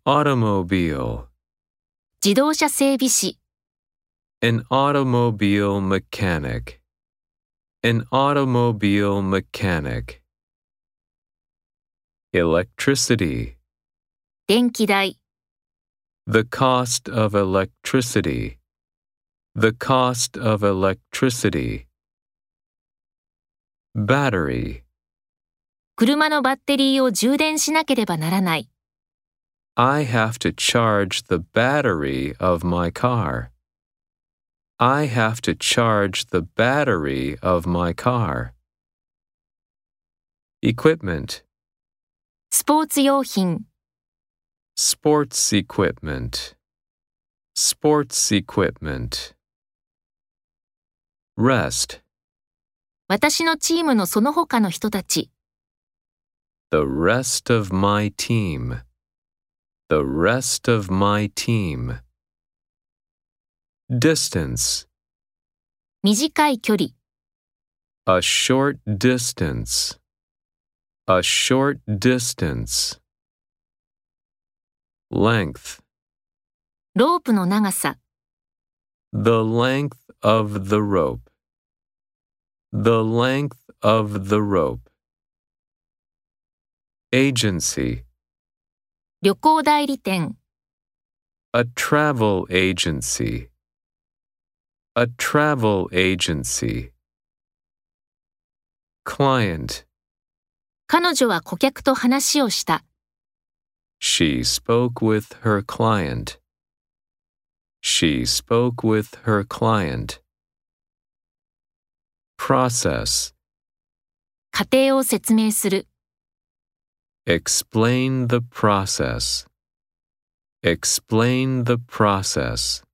automobile, 自動車整備士、 an automobile mechanic, an automobile mechanic. Electricity, 電気代、 the cost of electricity, the cost of electricity. Battery, 車のバッテリーを充電しなければならない。 I have to charge the battery of my car. I have to charge the battery of my car. Equipment, スポーツ用品、 sports equipment, sports equipment. Rest, 私のチームのその他の人たち、 the rest of my team, the rest of my team. Distance, 短い距離、 a short distance, a short distance. Length, ロープの長さ、 the length of the rope, the length of the rope. Agency, 旅行代理店、 a travel agency, a travel agency. Client, 彼女は顧客と話をした。 she spoke with her client. She spoke with her client. Process, 過程を説明する。 explain the process. Explain the process.